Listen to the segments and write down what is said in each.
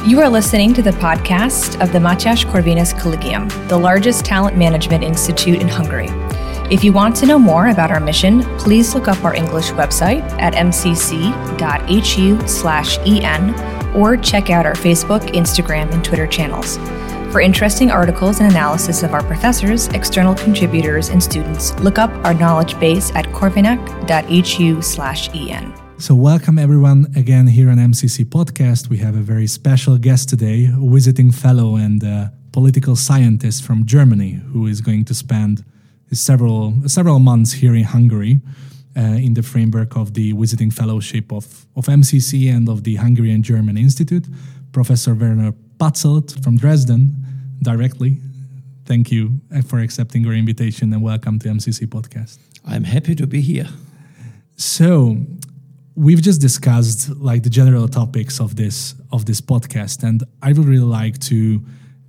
You are listening to the podcast of the Matyas Corvinus Collegium, the largest talent management institute in Hungary. If you want to know more about our mission, please look up our English website at mcc.hu/en or check out our Facebook, Instagram, and Twitter channels. For interesting articles and analysis of our professors, external contributors, and students, look up our knowledge base at corvinac.hu/en. So welcome everyone again here on MCC Podcast. We have a very special guest today, a visiting fellow and political scientist from Germany who is going to spend several months here in Hungary in the framework of the visiting fellowship of MCC and of the Hungarian-German Institute. Professor Werner Patzelt from Dresden, directly. Thank you for accepting our invitation and welcome to MCC Podcast. I'm happy to be here. So, we've just discussed like the general topics of this podcast, and I would really like to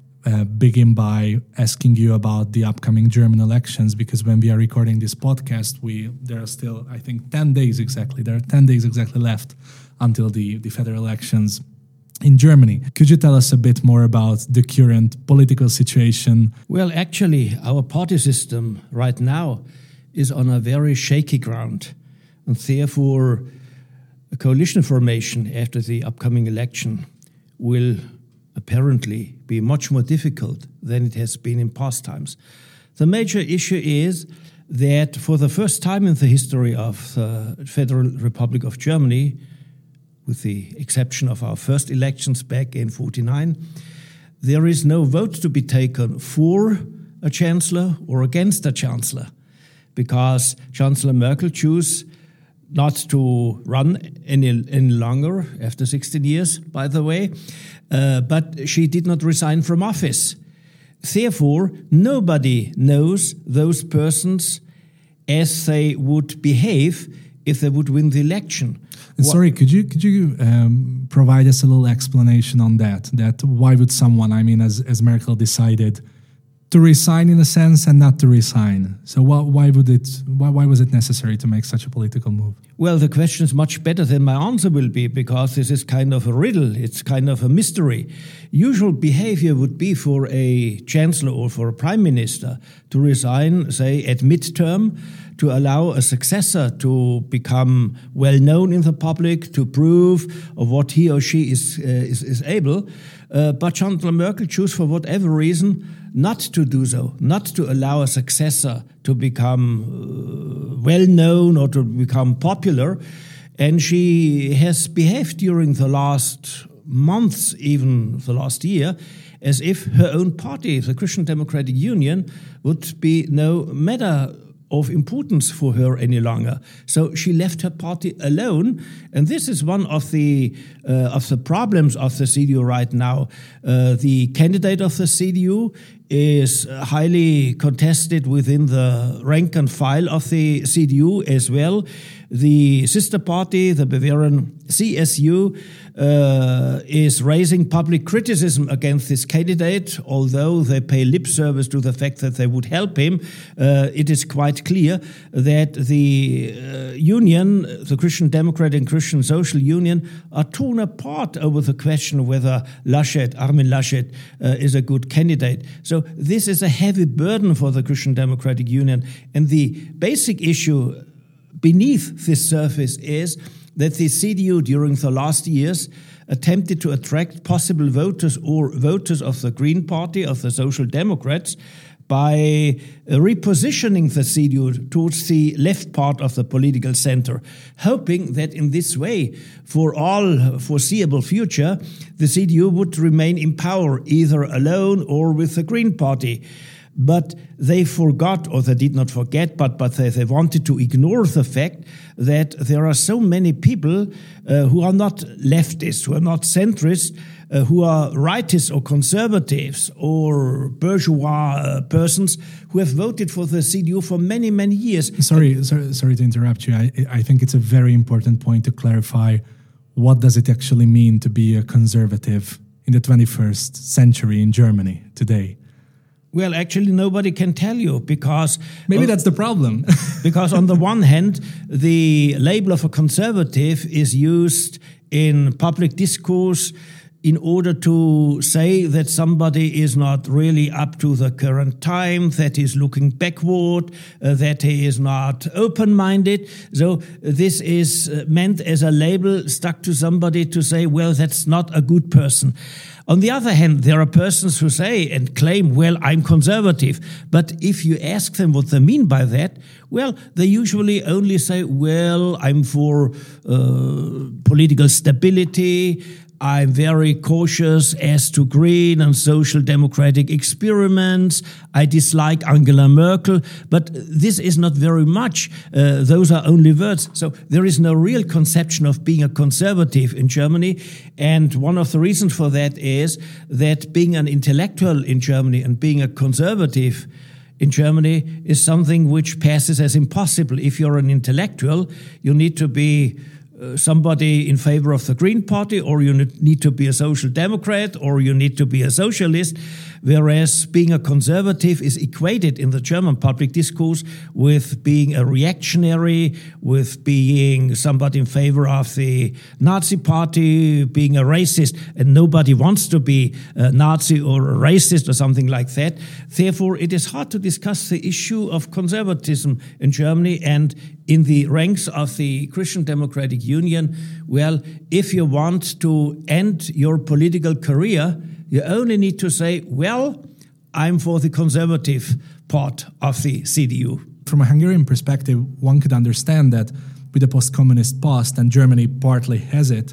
begin by asking you about the upcoming German elections, because when we are recording this podcast, there are still, I think, 10 days exactly. There are 10 days exactly left until the federal elections in Germany. Could you tell us a bit more about the current political situation? Well, actually, our party system right now is on a very shaky ground, and therefore a coalition formation after the upcoming election will apparently be much more difficult than it has been in past times. The major issue is that for the first time in the history of the Federal Republic of Germany, with the exception of our first elections back in 1949, there is no vote to be taken for a chancellor or against a chancellor, because Chancellor Merkel chose not to run any longer after 16 years, by the way, but she did not resign from office. Therefore, nobody knows those persons as they would behave if they would win the election. Sorry, could you provide us a little explanation on that? That why would someone, as Merkel decided to resign in a sense and not to resign? So why was it necessary to make such a political move? Well, the question is much better than my answer will be, because this is kind of a riddle. It's kind of a mystery. Usual behavior would be for a chancellor or for a prime minister to resign, say, at midterm, to allow a successor to become well known in the public, to prove of what he or she is able. But Chancellor Merkel chose, for whatever reason, not to do so, not to allow a successor to become well known or to become popular. And she has behaved during the last months, even the last year, as if her own party, the Christian Democratic Union, would be no matter of importance for her any longer. So she left her party alone, and this is one of the problems of the CDU right now. The candidate of the CDU is highly contested within the rank and file of the CDU as well. The sister party, the Bavarian CSU, is raising public criticism against this candidate. Although they pay lip service to the fact that they would help him, it is quite clear that the union, the Christian Democrat and Christian Social Union, are torn apart over the question of whether Armin Laschet, is a good candidate. So this is a heavy burden for the Christian Democratic Union. And the basic issue beneath this surface is that the CDU during the last years attempted to attract possible voters or voters of the Green Party, of the Social Democrats, by repositioning the CDU towards the left part of the political center, hoping that in this way, for all foreseeable future, the CDU would remain in power, either alone or with the Green Party. But they forgot, or they did not forget, but they wanted to ignore the fact that there are so many people who are not leftists, who are not centrists, who are rightists or conservatives or bourgeois persons who have voted for the CDU for many, many years. Sorry to interrupt you. I think it's a very important point to clarify. What does it actually mean to be a conservative in the 21st century in Germany today? Well, actually, nobody can tell you, because... Maybe that's the problem. Because on the one hand, the label of a conservative is used in public discourse in order to say that somebody is not really up to the current time, that he's looking backward, that he is not open-minded. So this is meant as a label stuck to somebody to say, well, that's not a good person. On the other hand, there are persons who say and claim, well, I'm conservative. But if you ask them what they mean by that, well, they usually only say, well, I'm for political stability. I'm very cautious as to green and social democratic experiments. I dislike Angela Merkel, but this is not very much. Those are only words. So there is no real conception of being a conservative in Germany. And one of the reasons for that is that being an intellectual in Germany and being a conservative in Germany is something which passes as impossible. If you're an intellectual, you need to be somebody in favor of the Green Party, or you need to be a social democrat, or you need to be a socialist, whereas being a conservative is equated in the German public discourse with being a reactionary, with being somebody in favor of the Nazi party, being a racist, and nobody wants to be a Nazi or a racist or something like that. Therefore, it is hard to discuss the issue of conservatism in Germany. And in the ranks of the Christian Democratic Union, well, if you want to end your political career, you only need to say, well, I'm for the conservative part of the CDU. From a Hungarian perspective, one could understand that with the post-communist past, and Germany partly has it,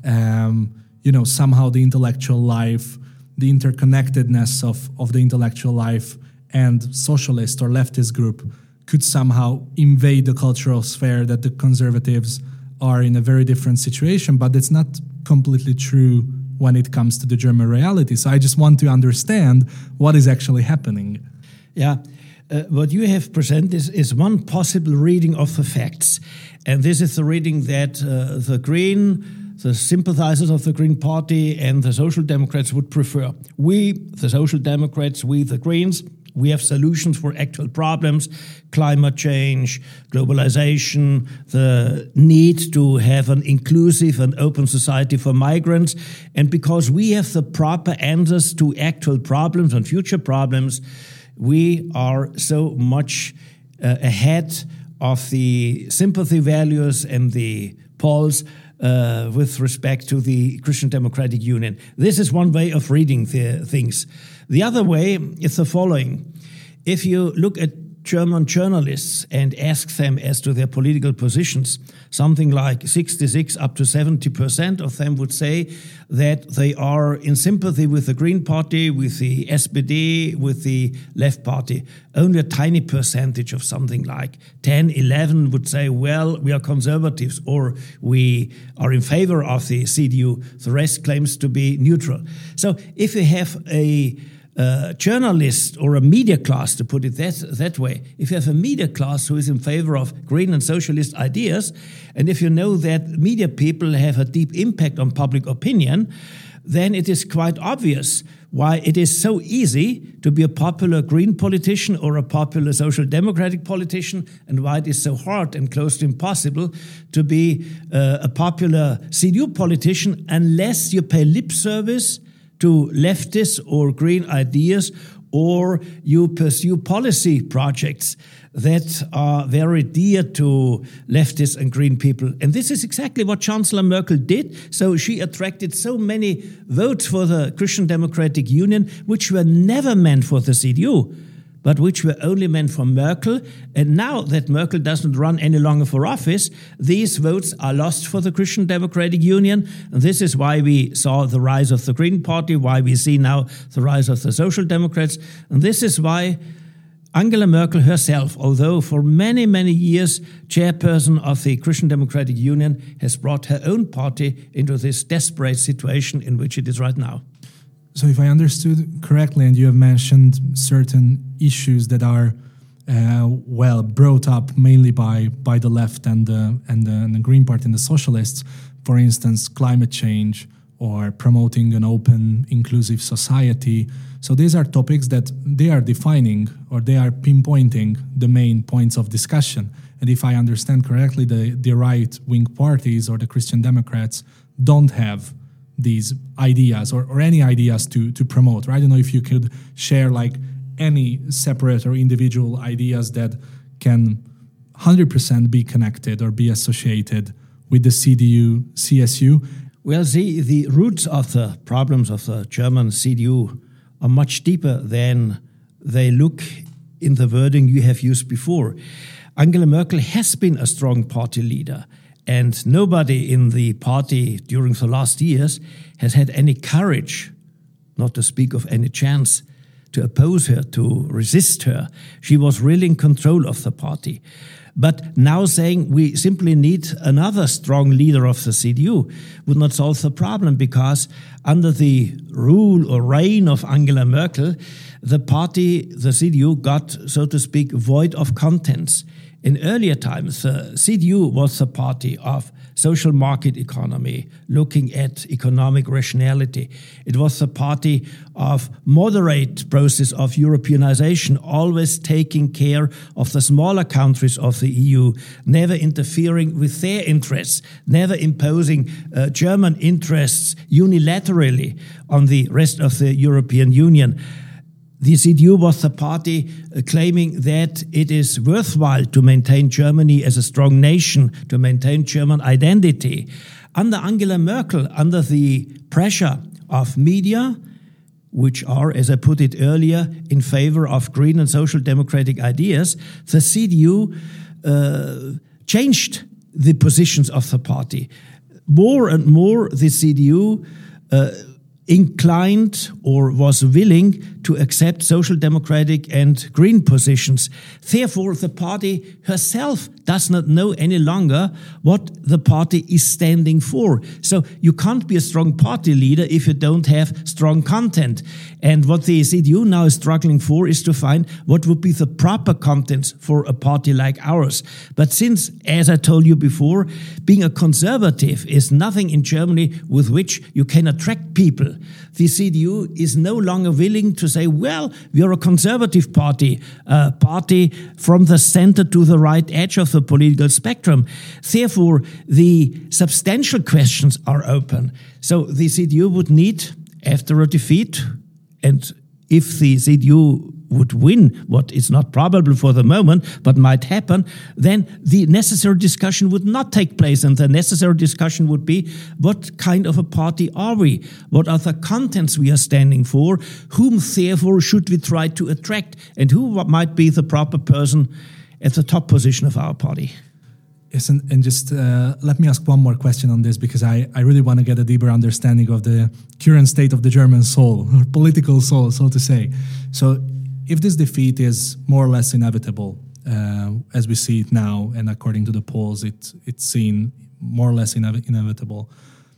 somehow the intellectual life, the interconnectedness of the intellectual life and socialist or leftist group could somehow invade the cultural sphere, that the conservatives are in a very different situation, but it's not completely true when it comes to the German reality. So I just want to understand what is actually happening. Yeah, what you have presented is one possible reading of the facts. And this is the reading that the sympathizers of the Green Party and the Social Democrats would prefer. We, the Social Democrats, we, the Greens, we have solutions for actual problems: climate change, globalization, the need to have an inclusive and open society for migrants. And because we have the proper answers to actual problems and future problems, we are so much ahead of the sympathy values and the polls with respect to the Christian Democratic Union. This is one way of reading the things. The other way is the following. If you look at German journalists and ask them as to their political positions, something like 66 up to 70% of them would say that they are in sympathy with the Green Party, with the SPD, with the Left Party. Only a tiny percentage of something like 10, 11 would say, well, we are conservatives, or we are in favor of the CDU. The rest claims to be neutral. So if you have a journalist or a media class, to put it that way, if you have a media class who is in favor of green and socialist ideas, and if you know that media people have a deep impact on public opinion, then it is quite obvious why it is so easy to be a popular green politician or a popular social democratic politician, and why it is so hard and close to impossible to be a popular CDU politician unless you pay lip service to leftist or green ideas, or you pursue policy projects that are very dear to leftists and green people. And this is exactly what Chancellor Merkel did. So she attracted so many votes for the Christian Democratic Union, which were never meant for the CDU, but which were only meant for Merkel. And now that Merkel doesn't run any longer for office, these votes are lost for the Christian Democratic Union. And this is why we saw the rise of the Green Party, why we see now the rise of the Social Democrats. And this is why Angela Merkel herself, although for many, many years chairperson of the Christian Democratic Union, has brought her own party into this desperate situation in which it is right now. So if I understood correctly, and you have mentioned certain issues that are brought up mainly by the left and the Green Party and the socialists, for instance, climate change or promoting an open, inclusive society. So these are topics that they are defining, or they are pinpointing the main points of discussion. And if I understand correctly, the right-wing parties or the Christian Democrats don't have these ideas or any ideas to promote? Right? I don't know if you could share like any separate or individual ideas that can 100% be connected or be associated with the CDU, CSU. Well, the roots of the problems of the German CDU are much deeper than they look in the wording you have used before. Angela Merkel has been a strong party leader, and nobody in the party during the last years has had any courage, not to speak of any chance, to oppose her, to resist her. She was really in control of the party. But now saying we simply need another strong leader of the CDU would not solve the problem, because under the rule or reign of Angela Merkel, the party, the CDU, got, so to speak, void of contents. In earlier times, the CDU was the party of social market economy, looking at economic rationality. It was the party of moderate process of Europeanization, always taking care of the smaller countries of the EU, never interfering with their interests, never imposing German interests unilaterally on the rest of the European Union. The CDU was the party claiming that it is worthwhile to maintain Germany as a strong nation, to maintain German identity. Under Angela Merkel, under the pressure of media, which are, as I put it earlier, in favor of green and social democratic ideas, the CDU changed the positions of the party. More and more, the CDU inclined or was willing to accept social democratic and green positions. Therefore, the party herself does not know any longer what the party is standing for. So you can't be a strong party leader if you don't have strong content. And what the CDU now is struggling for is to find what would be the proper contents for a party like ours. But since, as I told you before, being a conservative is nothing in Germany with which you can attract people, the CDU is no longer willing to say, well, we are a conservative party, a party from the center to the right edge of the political spectrum. Therefore, the substantial questions are open. So the CDU would need, after a defeat, and if the CDU would win, what is not probable for the moment, but might happen, then the necessary discussion would not take place. And the necessary discussion would be, what kind of a party are we? What are the contents we are standing for? Whom, therefore, should we try to attract? And who might be the proper person at the top position of our party? Yes, and just let me ask one more question on this, because I really want to get a deeper understanding of the current state of the German soul, or political soul, so to say. So if this defeat is more or less inevitable, as we see it now, and according to the polls, it's seen more or less inevitable,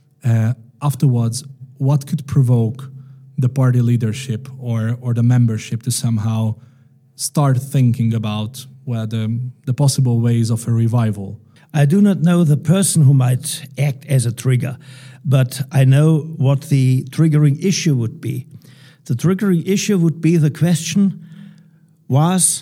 afterwards, what could provoke the party leadership or the membership to somehow start thinking about the possible ways of a revival? I do not know the person who might act as a trigger, but I know what the triggering issue would be. The triggering issue would be the question, was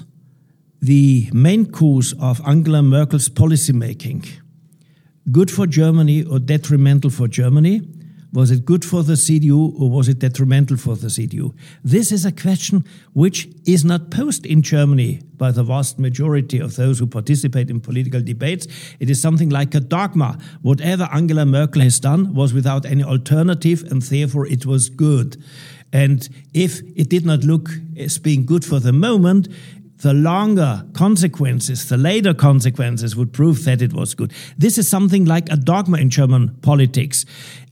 the main course of Angela Merkel's policymaking good for Germany or detrimental for Germany? Was it good for the CDU or was it detrimental for the CDU? This is a question which is not posed in Germany by the vast majority of those who participate in political debates. It is something like a dogma. Whatever Angela Merkel has done was without any alternative, and therefore it was good. And if it did not look as being good for the moment, the longer consequences, the later consequences would prove that it was good. This is something like a dogma in German politics.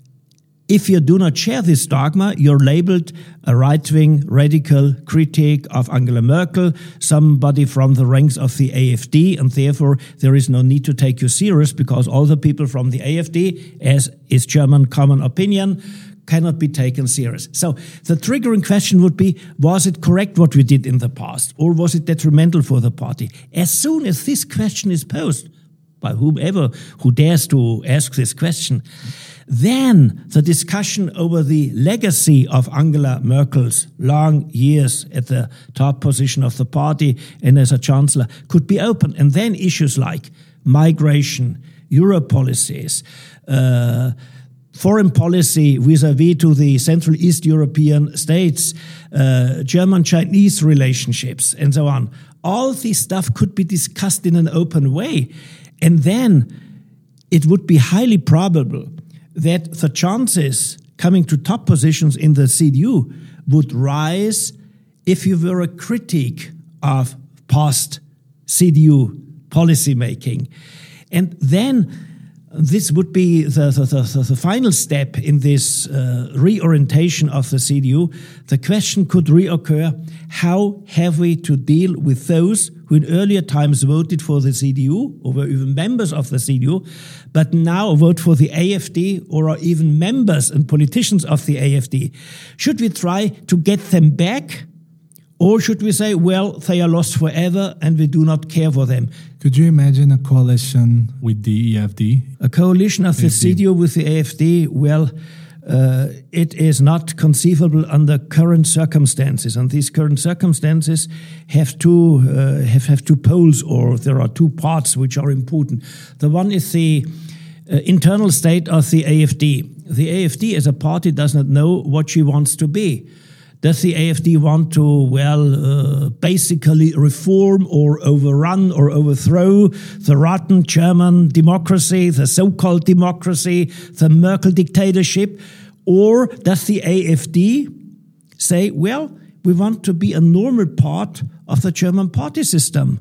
If you do not share this dogma, you're labeled a right-wing radical critic of Angela Merkel, somebody from the ranks of the AfD, and therefore there is no need to take you serious, because all the people from the AfD, as is German common opinion, cannot be taken serious. So the triggering question would be, was it correct what we did in the past, or was it detrimental for the party? As soon as this question is posed by whomever who dares to ask this question, then the discussion over the legacy of Angela Merkel's long years at the top position of the party and as a chancellor could be open. And then issues like migration, Euro policies, foreign policy vis-à-vis to the Central East European states, German-Chinese relationships, and so on. All this stuff could be discussed in an open way. And then it would be highly probable that the chances coming to top positions in the CDU would rise if you were a critic of past CDU policymaking. And then this would be the final step in this reorientation of the CDU. The question could reoccur, how have we to deal with those who in earlier times voted for the CDU or were even members of the CDU, but now vote for the AfD or are even members and politicians of the AfD? Should we try to get them back? Or should we say, well, they are lost forever and we do not care for them? Could you imagine a coalition with the EFD? A coalition of the CDU with the AfD? Well, it is not conceivable under current circumstances. And these current circumstances have two poles, or there are two parts which are important. The one is the internal state of the AfD. The AfD as a party does not know what she wants to be. Does the AfD want to, basically reform or overrun or overthrow the rotten German democracy, the so-called democracy, the Merkel dictatorship? Or does the AfD say, well, we want to be a normal part of the German party system,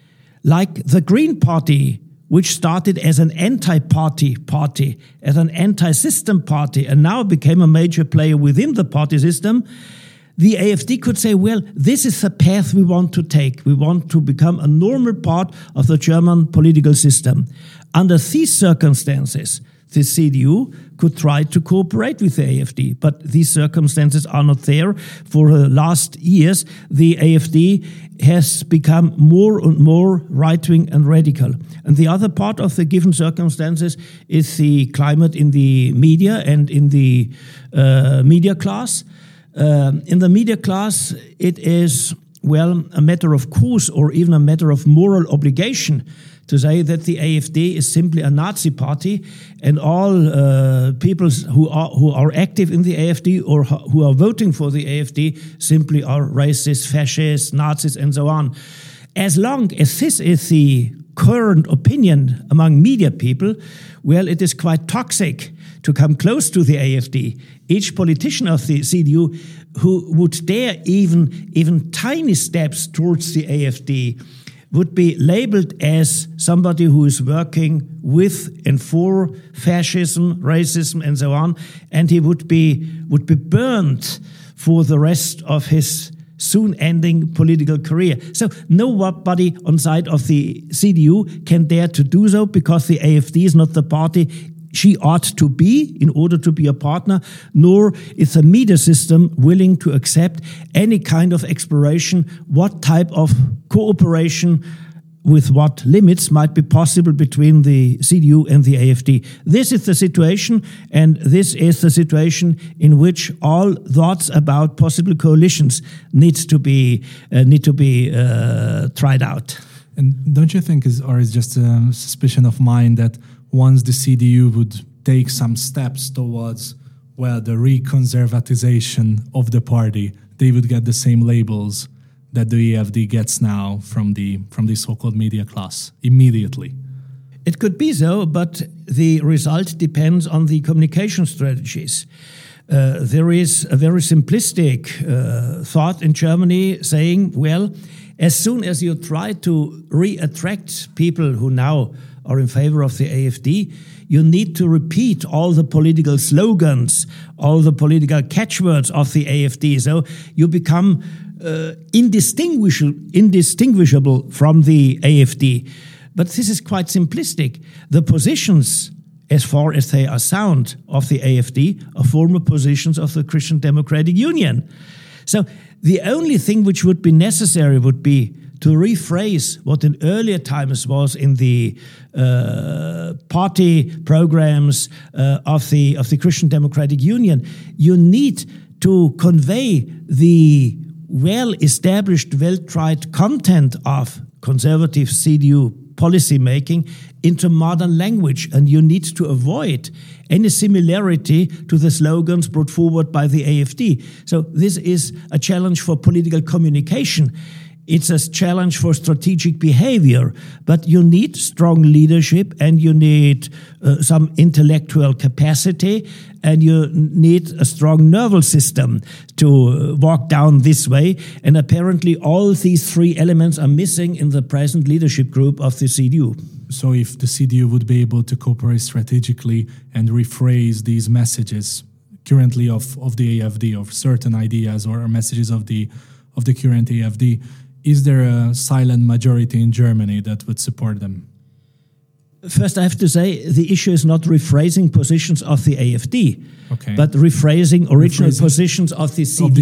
like the Green Party, which started as an anti-party party, as an anti-system party, and now became a major player within the party system? The AfD could say, well, this is the path we want to take. We want to become a normal part of the German political system. Under these circumstances, the CDU could try to cooperate with the AfD, but these circumstances are not there. For the last years, the AfD has become more and more right-wing and radical. And the other part of the given circumstances is the climate in the media and in the media class. In the media class, it is, well, a matter of course or even a matter of moral obligation to say that the AfD is simply a Nazi party, and all people who are active in the AfD or who are voting for the AfD simply are racist, fascist, Nazis, and so on. As long as this is the current opinion among media people, well, it is quite toxic to come close to the AfD. Each politician of the CDU who would dare even tiny steps towards the AfD would be labeled as somebody who is working with and for fascism, racism, and so on, and he would be burned for the rest of his soon ending political career. So nobody on side of the CDU can dare to do so, because the AfD is not the party she ought to be in order to be a partner, nor is the media system willing to accept any kind of exploration, what type of cooperation with what limits might be possible between the CDU and the AfD. This is the situation, and this is the situation in which all thoughts about possible coalitions need to be tried out. And don't you think, is just a suspicion of mine, that once the CDU would take some steps towards, well, the reconservatization of the party, they would get the same labels that the AfD gets now from the so-called media class immediately? It could be so, but the result depends on the communication strategies. There is a very simplistic thought in Germany saying, well, as soon as you try to re-attract people who now are in favor of the AfD, you need to repeat all the political slogans, all the political catchwords of the AfD. So you become indistinguishable from the AfD. But this is quite simplistic. The positions, as far as they are sound, of the AfD are former positions of the Christian Democratic Union. So the only thing which would be necessary would be to rephrase what in earlier times was in the party programs of the Christian Democratic Union. You need to convey the well-established, well-tried content of conservative CDU policy making into modern language, and you need to avoid any similarity to the slogans brought forward by the AfD. So this is a challenge for political communication. It's a challenge for strategic behavior, but you need strong leadership, and you need some intellectual capacity, and you need a strong nervous system to walk down this way. And apparently all these three elements are missing in the present leadership group of the CDU. So if the CDU would be able to cooperate strategically and rephrase these messages currently of the AfD, of certain ideas or messages of the current AfD, is there a silent majority in Germany that would support them? First, I have to say the issue is not rephrasing positions of the AfD, but rephrasing original positions of the CDU.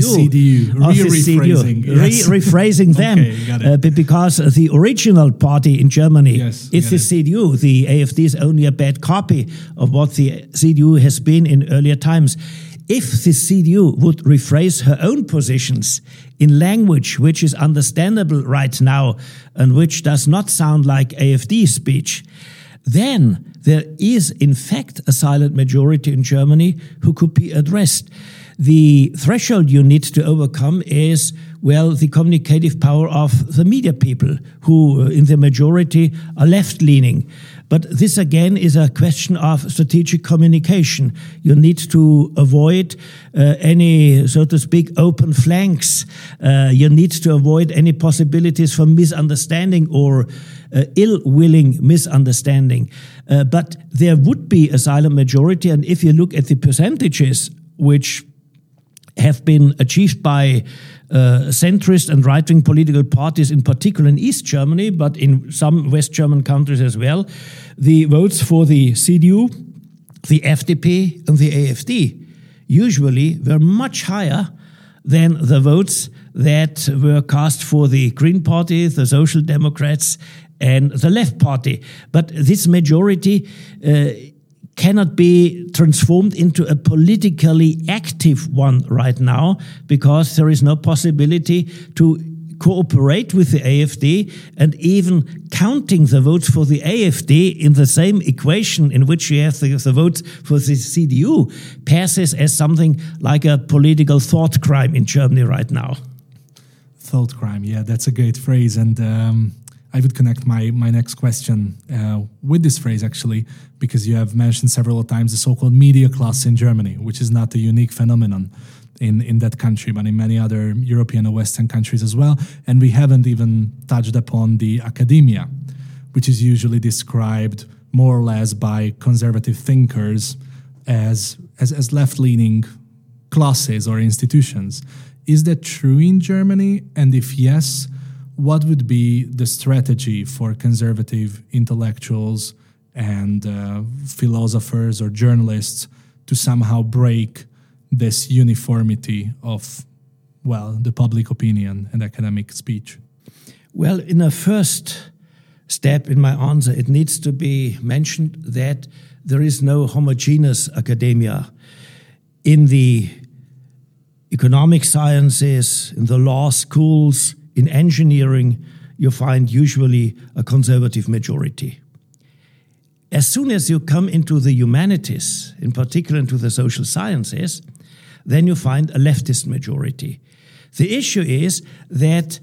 Rephrasing them. Got it. Because the original party in Germany is the CDU. The AfD is only a bad copy of what the CDU has been in earlier times. If the CDU would rephrase her own positions in language which is understandable right now and which does not sound like AfD speech, then there is in fact a silent majority in Germany who could be addressed. The threshold you need to overcome is, well, the communicative power of the media people who in the majority are left-leaning. But this again is a question of strategic communication. You need to avoid any, so to speak, open flanks. You need to avoid any possibilities for misunderstanding or ill-willing misunderstanding. But there would be a silent majority, and if you look at the percentages which have been achieved by centrist and right-wing political parties, in particular in East Germany, but in some West German countries as well, the votes for the CDU, the FDP, and the AfD usually were much higher than the votes that were cast for the Green Party, the Social Democrats, and the Left Party. But this majority cannot be transformed into a politically active one right now, because there is no possibility to cooperate with the AfD, and even counting the votes for the AfD in the same equation in which you have the votes for the CDU passes as something like a political thought crime in Germany right now. Thought crime, yeah, that's a great phrase. And I would connect my next question with this phrase, actually, because you have mentioned several times the so-called media class in Germany, which is not a unique phenomenon in that country, but in many other European or Western countries as well. And we haven't even touched upon the academia, which is usually described more or less by conservative thinkers as left-leaning classes or institutions. Is that true in Germany? And if yes, what would be the strategy for conservative intellectuals and philosophers or journalists to somehow break this uniformity of, well, the public opinion and academic speech? Well, in a first step in my answer, it needs to be mentioned that there is no homogeneous academia. In the economic sciences, in the law schools, in engineering, you find usually a conservative majority. As soon as you come into the humanities, in particular into the social sciences, then you find a leftist majority. The issue is that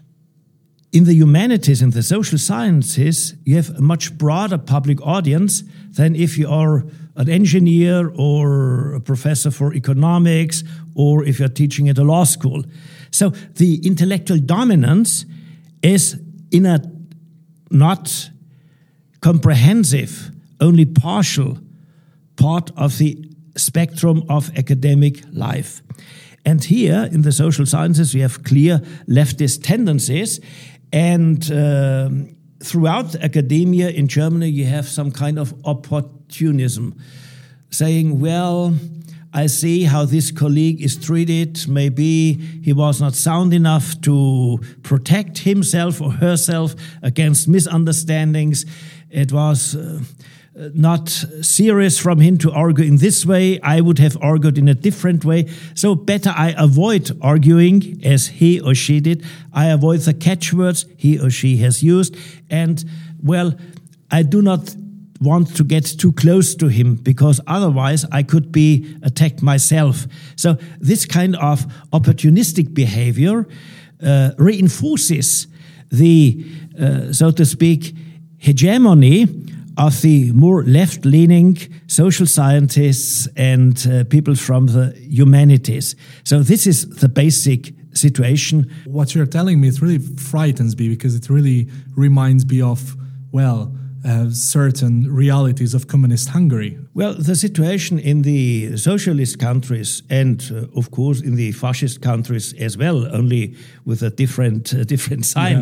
in the humanities and the social sciences, you have a much broader public audience than if you are an engineer or a professor for economics, or if you're teaching at a law school. So the intellectual dominance is in a not comprehensive, only partial part of the spectrum of academic life. And here in the social sciences, we have clear leftist tendencies. And throughout academia in Germany, you have some kind of opportunism, saying, well, I see how this colleague is treated. Maybe he was not sound enough to protect himself or herself against misunderstandings. It was not serious from him to argue in this way. I would have argued in a different way. So better I avoid arguing as he or she did. I avoid the catchwords he or she has used. And well, I do not want to get too close to him because otherwise I could be attacked myself. So this kind of opportunistic behavior reinforces the, so to speak, hegemony of the more left-leaning social scientists and people from the humanities. So this is the basic situation. What you're telling me, it really frightens me because it really reminds me of, well, certain realities of communist Hungary. Well, the situation in the socialist countries and, of course, in the fascist countries as well, only with a different sign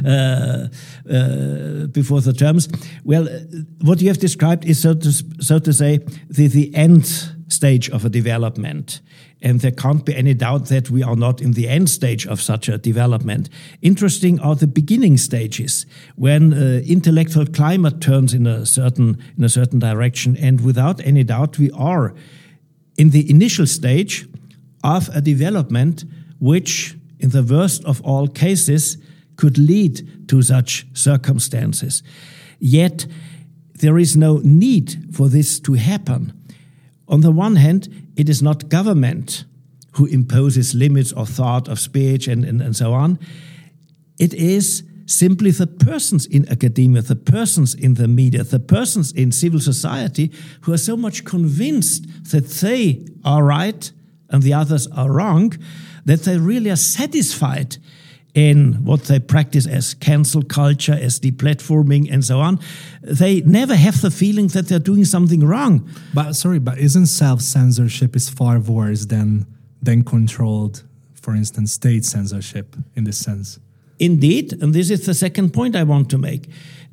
before the terms. Well, what you have described is, so to say, the end stage of a development. And there can't be any doubt that we are not in the end stage of such a development. Interesting are the beginning stages, when intellectual climate turns in a certain direction. And without any doubt, we are in the initial stage of a development which, in the worst of all cases, could lead to such circumstances. Yet, there is no need for this to happen. On the one hand, it is not government who imposes limits of thought, of speech, and so on. It is simply the persons in academia, the persons in the media, the persons in civil society who are so much convinced that they are right and the others are wrong, that they really are satisfied in what they practice as cancel culture, as deplatforming, and so on. They never have the feeling that they're doing something wrong. But isn't self-censorship is far worse than controlled, for instance, state censorship in this sense? Indeed, and this is the second point I want to make.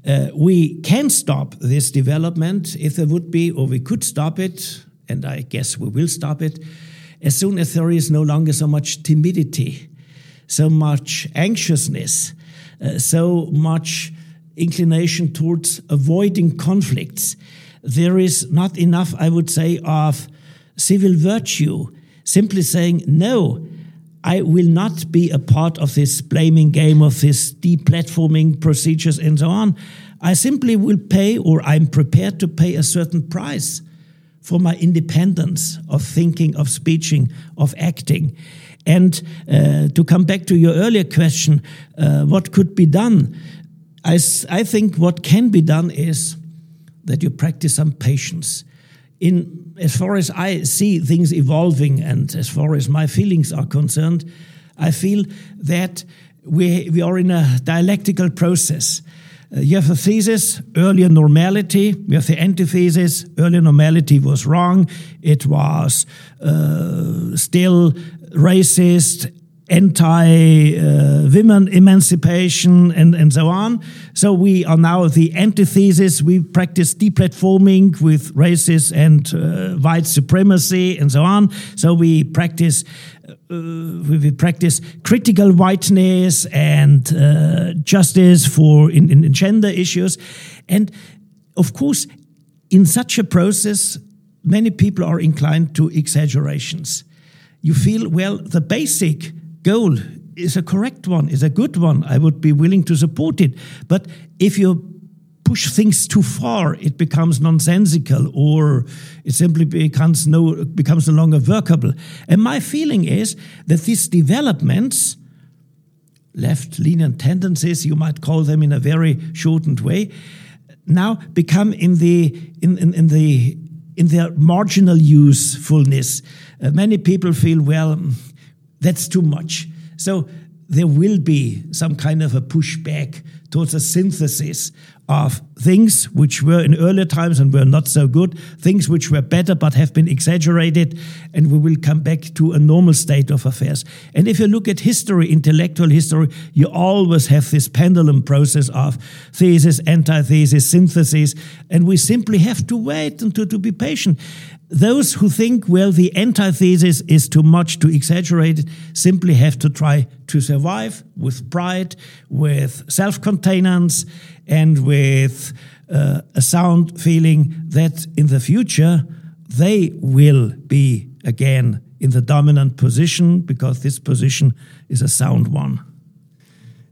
We can stop this development if there would be, or we could stop it, and I guess we will stop it, as soon as there is no longer so much timidity, so much anxiousness, so much inclination towards avoiding conflicts. There is not enough, I would say, of civil virtue, simply saying, no, I will not be a part of this blaming game, of this deplatforming procedures and so on. I simply will pay, or I'm prepared to pay a certain price for my independence of thinking, of speeching, of acting. And to come back to your earlier question, what could be done? I think what can be done is that you practice some patience. As far as I see things evolving and as far as my feelings are concerned, I feel that we are in a dialectical process. You have a thesis, earlier normality. We have the antithesis, earlier normality was wrong. It was still racist, anti-women emancipation, and so on. So we are now the antithesis. We practice deplatforming with racism and white supremacy and so on. So we practice critical whiteness and justice for in gender issues. And of course, in such a process, many people are inclined to exaggerations. You feel, well, the basic goal is a correct one, is a good one. I would be willing to support it. But if you push things too far, it becomes nonsensical, or it simply becomes no longer workable. And my feeling is that these developments, left-leaning tendencies, you might call them in a very shortened way, now become in their marginal usefulness. Many people feel, well, that's too much. So there will be some kind of a pushback towards a synthesis of things which were in earlier times and were not so good, things which were better but have been exaggerated, and we will come back to a normal state of affairs. And if you look at history, intellectual history, you always have this pendulum process of thesis, antithesis, synthesis, and we simply have to wait and to be patient. Those who think, well, the antithesis is too much, too exaggerated, simply have to try to survive with pride, with self-containance, and with a sound feeling that in the future they will be again in the dominant position, because this position is a sound one.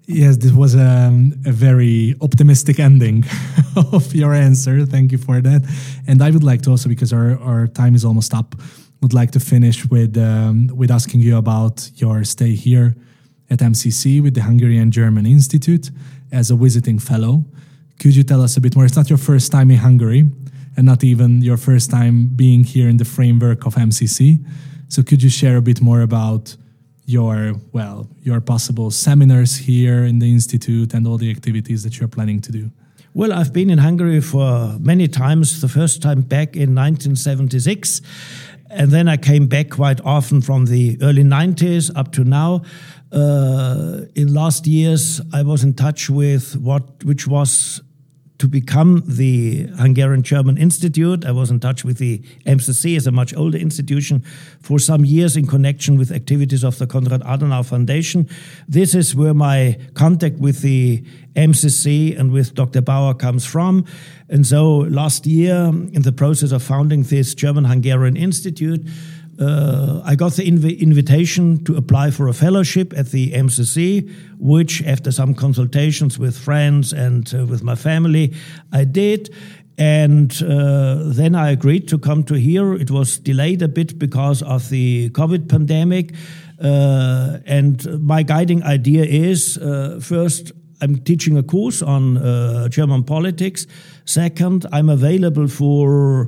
Yes, this was a very optimistic ending of your answer. Thank you for that. And I would like to also, because our time is almost up, would like to finish with asking you about your stay here at MCC with the Hungarian-German Institute as a visiting fellow. Could you tell us a bit more? It's not your first time in Hungary and not even your first time being here in the framework of MCC. So could you share a bit more about your possible seminars here in the Institute and all the activities that you're planning to do? Well, I've been in Hungary for many times, the first time back in 1976, and then I came back quite often from the early 90s up to now. In last years, I was in touch with which was to become the Hungarian-German Institute. I was in touch with the MCC as a much older institution for some years in connection with activities of the Konrad Adenauer Foundation. This is where my contact with the MCC and with Dr. Bauer comes from. And so last year, in the process of founding this German-Hungarian Institute, I got the invitation to apply for a fellowship at the MCC, which after some consultations with friends and with my family, I did. And then I agreed to come to here. It was delayed a bit because of the COVID pandemic. And my guiding idea is, first, I'm teaching a course on German politics. Second, I'm available for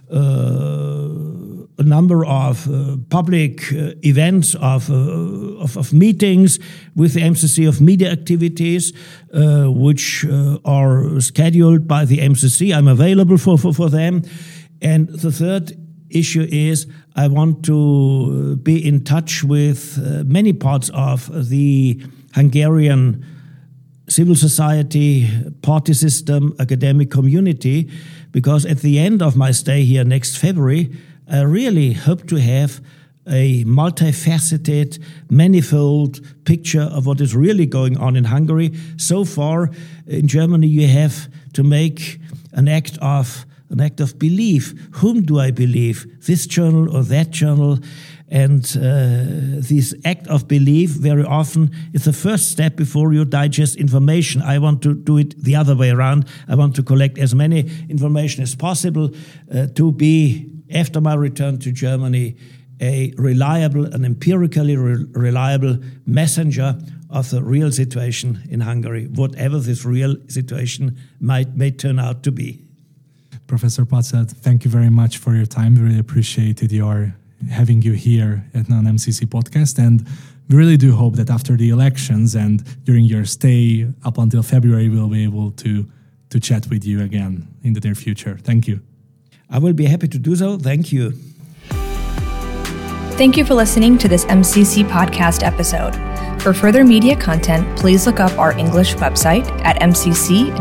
a number of public events, of meetings with the MCC, of media activities, which are scheduled by the MCC. I'm available for them. And the third issue is I want to be in touch with many parts of the Hungarian civil society, party system, academic community, because at the end of my stay here next February, I really hope to have a multifaceted, manifold picture of what is really going on in Hungary. So far, in Germany, you have to make an act of belief. Whom do I believe? This journal or that journal? And this act of belief very often is the first step before you digest information. I want to do it the other way around. I want to collect as many information as possible to be, after my return to Germany, a reliable and empirically reliable messenger of the real situation in Hungary, whatever this real situation may turn out to be. Professor Patzelt, thank you very much for your time. We really appreciated having you here at Non-MCC podcast, and we really do hope that after the elections and during your stay up until February, we'll be able to chat with you again in the near future. Thank you. I will be happy to do so. Thank you. Thank you for listening to this MCC podcast episode. For further media content, please look up our English website at mcc.hu/en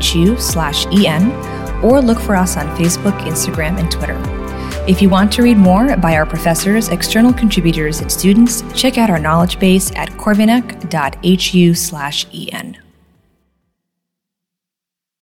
or look for us on Facebook, Instagram, and Twitter. If you want to read more by our professors, external contributors, and students, check out our knowledge base at corvinak.hu/en.